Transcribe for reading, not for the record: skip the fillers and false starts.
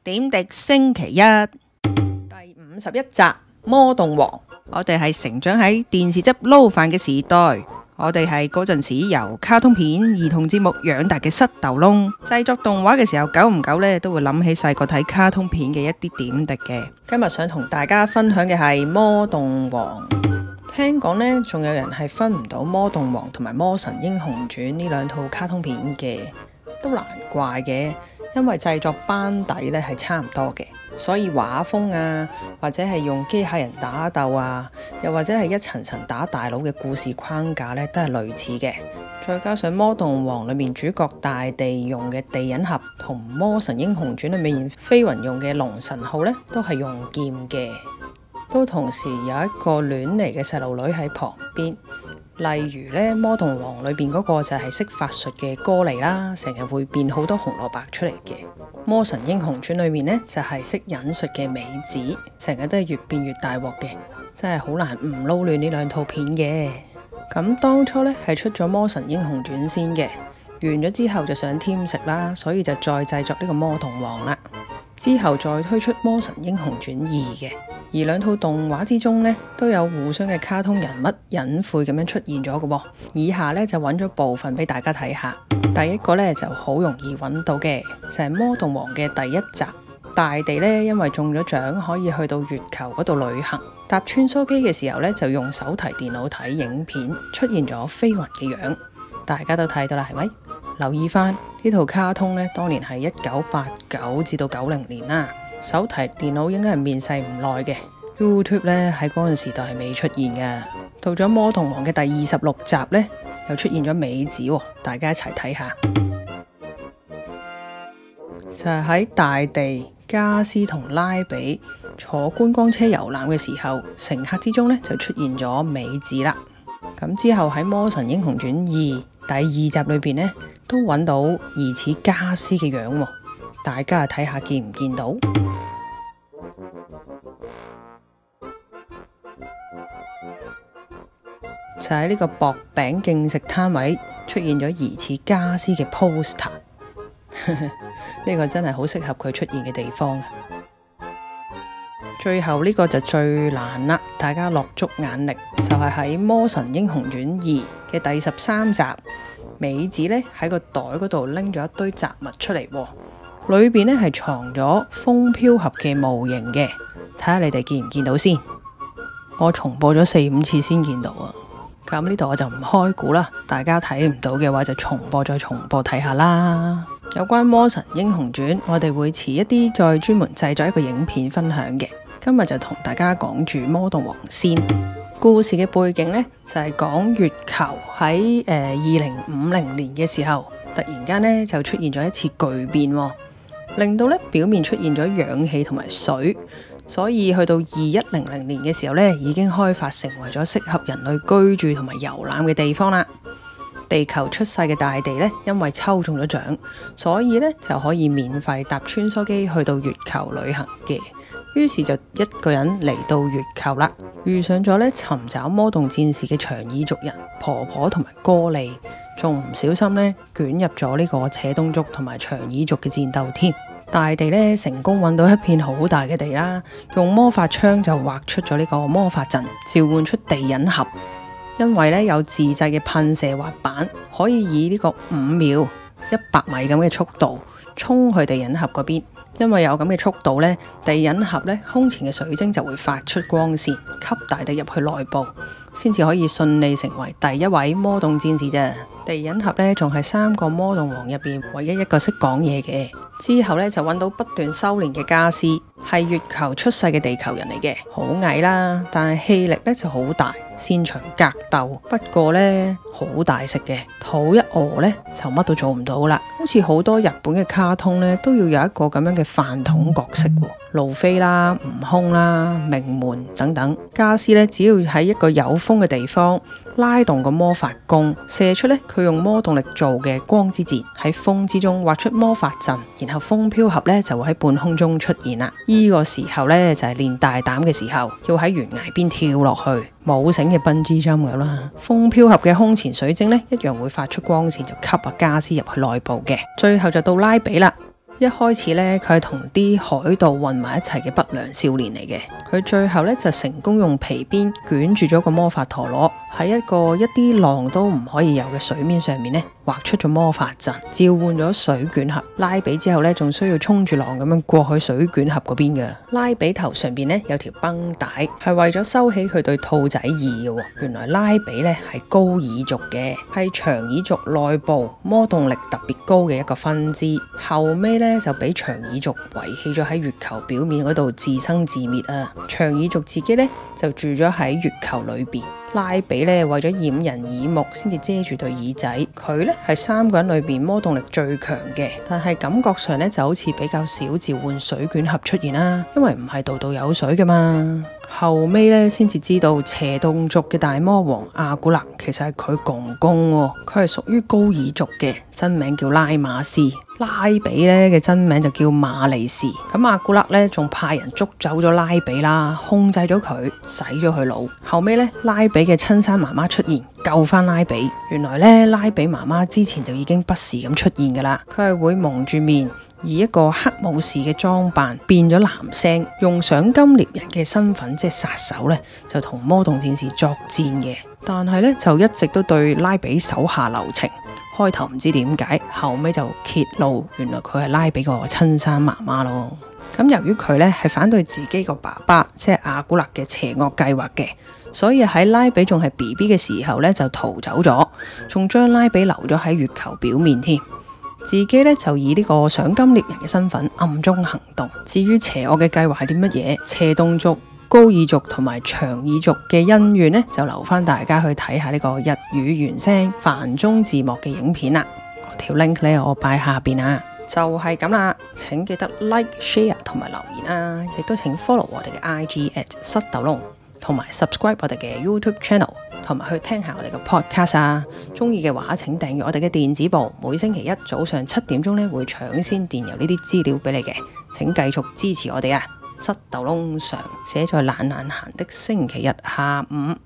點滴星期一第51集《魔動王》。我哋係成長喺電視汁撈飯嘅時代，我哋係嗰陣時由卡通片、兒童節目養大嘅膝頭窿。製作動畫嘅時候，久唔久呢都會諗起細個睇卡通片嘅一啲點滴嘅。今日想同大家分享嘅係《魔動王》。聽講呢，仲有人係分唔到《魔動王》同埋《魔神英雄傳》呢兩套卡通片嘅，都難怪嘅，因為製作班底呢係差唔多嘅，所以畫風啊，或者係用機械人打鬥啊，又或者係一層層打大佬嘅故事框架呢，都係類似嘅。再加上《魔動王》裏面主角大地用嘅地引盒，同《魔神英雄傳》裏面飛雲用嘅龍神號呢，都係用劍嘅。都同時有一個亂嚟嘅細路女喺旁邊，例如呢《魔動王》裏邊嗰個就係識法術嘅哥尼啦，成日會變好多紅蘿蔔出嚟嘅。《魔神英雄傳》裏面呢，就係識忍術嘅美子，成日都係越變越大鑊嘅，真係好難唔撈亂呢兩套片嘅。咁當初呢，係出咗《魔神英雄傳》先嘅，完咗之後就想添食啦，所以就再製作呢個《魔動王》啦。之後再推出《魔神英雄傳2》嘅，而兩套動畫之中呢，都有互相嘅卡通人物隱晦咁樣出現咗嘅喎。以下呢，就揾咗部分俾大家睇下。第一個呢，就好容易揾到嘅，就係《魔動王》嘅第一集。大地呢，因為中咗獎，可以去到月球嗰度旅行。搭穿梭機嘅時候呢，就用手提電腦睇影片，出現咗飛雲嘅樣，大家都睇到啦，係咪？留意翻呢套卡通呢，當年係1989至到90年啦。手提電腦應該係面世唔耐嘅。YouTube 呢，喺嗰陣時代係未出現嘅。到咗《魔動王》嘅第26集呢，又出現咗美子喎，大家一齊睇下。就係喺大地、加斯同拉比坐觀光車遊覽嘅時候，乘客之中呢，就出現咗美子啦。咁之後喺《魔神英雄傳2》第2集裏邊呢，都揾到疑似加斯嘅樣喎，大家睇下見唔見到？就喺呢個薄餅競食攤位出現咗疑似加斯嘅 poster， 呢個真係好適合佢出現嘅地方。最後呢個就最難啦，大家落足眼力，就係喺《魔神英雄傳2》嘅第13集。美子呢喺個袋嗰度拎咗一堆雜物出嚟，裏邊呢係藏咗風飄俠嘅模型嘅，睇下你哋見唔見到先。我重播咗4-5次先見到啊，咁呢度我就唔開估啦，大家睇唔到嘅話就重播再重播睇下啦。有關魔神英雄傳，我哋會遲一啲再專門製作一個影片分享嘅，今日就同大家講住魔動王先。故事嘅背景呢，就係講月球喺2050年嘅時候，突然間呢就出現咗一次巨變，令到呢表面出現咗氧氣同埋水，所以去到2100年嘅時候呢，已經開發成為咗適合人類居住同埋遊覽嘅地方啦。地球出世嘅大地呢，因為抽中咗獎，所以呢就可以免費搭穿梭機去到月球旅行嘅。於是就一個人嚟到月球啦，遇上咗呢尋找魔動戰士嘅長耳族人婆婆同埋哥利，仲唔小心呢捲入咗呢個扯東族同埋長耳族嘅戰鬥添。大地呢成功揾到一片好大嘅地啦，用魔法槍就畫出咗呢個魔法陣，召喚出地引盒。因為呢有自製嘅噴射滑板，可以以呢個5秒100米咁嘅速度衝去地引盒嗰邊。因為有咁嘅速度呢，地引盒呢胸前嘅水晶就會發出光線，吸大地入去內部，先至可以順利成為第一位魔動戰士啫。地引盒呢仲係3個魔動王入邊唯一一個識講嘢嘅。之後呢，就揾到不斷修煉嘅加斯，係月球出世嘅地球人嚟嘅，好矮啦，但係氣力呢就好大，擅長格鬥。不過呢，好大食嘅，肚一餓呢，就乜都做唔到啦。好似好多日本嘅卡通呢，都要有一個咁樣嘅飯桶角色喎，路飛啦、悟空啦、名門等等。加斯呢，只要喺一個有風嘅地方拉動個魔法弓，射出呢佢用魔動力做嘅光之箭，喺風之中畫出魔法陣，然後風飄俠呢就會喺半空中出現啦。呢個時候呢，就係練大膽嘅時候，要喺懸崖邊跳落去，冇繩嘅笨豬跳咁啦。風飄俠嘅胸前水晶呢，一樣會發出光線，就吸加斯入去內部嘅。最後就到拉比啦。 一開始呢，佢係同啲海盜混埋一齊嘅不良少年嚟嘅。佢最後呢，就成功用皮鞭捲住咗個魔法陀螺，喺一啲浪都唔可以有嘅水面上面呢，畫出咗魔法陣，召喚咗水捲俠拉比之後呢，仲需要衝住浪咁樣過去水捲俠嗰邊嘅。拉比頭上邊呢，有條繃帶，係為咗收起佢對兔仔耳嘅。原來拉比呢係高爾族嘅，係長耳族內部魔動力特別高嘅一個分支。後尾呢，就俾長耳族遺棄咗喺月球表面嗰度自生自滅啊！長耳族自己呢，就住咗喺月球裏邊。拉比呢，為咗掩人耳目，先至遮住對耳仔。佢呢係3個人裏邊魔動力最強嘅，但係感覺上呢就好似比較少召喚水捲俠出現啦，因為唔係度度有水噶嘛。後尾呢，先至知道邪洞族嘅大魔王阿古勒其實係佢公公喎，佢係屬於高爾族嘅，真名叫拉馬斯。拉比呢嘅真名就叫馬利士。咁阿古勒呢，仲派人捉走咗拉比啦，控制咗佢，洗咗佢腦。後尾呢，拉比嘅親生媽媽出現救翻拉比。原來呢，拉比媽媽之前就已經不時咁出現噶啦，佢係會蒙住面，以一個黑武士嘅裝扮變咗男聲，用賞金獵人嘅身份即係殺手呢，就同魔動戰士作戰嘅。但係呢，就一直都對拉比手下留情。開頭唔知點解，後尾就揭露原來佢係拉比個親生媽媽咯。咁由於佢呢係反對自己個爸爸即係阿古勒嘅邪惡計劃嘅，所以喺拉比仲係 BB 嘅時候呢，就逃走咗，仲將拉比留咗喺月球表面添。自己呢，就以呢個賞金獵人嘅身份暗中行動。至於邪惡嘅計劃係啲乜嘢，邪洞族、高爾族同埋長耳族嘅恩怨呢，就留翻大家去睇下呢個日語原聲繁中字幕嘅影片啦。嗰條 link 呢，我擺下邊啊。就係咁啦，請記得 like、share 同埋留言啦，亦都請 follow 我哋嘅 IG@ 塞豆窿，同埋 subscribe 我哋嘅 YouTube channel， 同埋去聽下我哋嘅 podcast 啊。中意嘅話，請訂閱我哋嘅電子報，每星期一早上7點鐘呢，會搶先電郵呢啲資料俾你嘅。請繼續支持我哋啊！塞豆窿常寫在懶懶閒的星期日下午。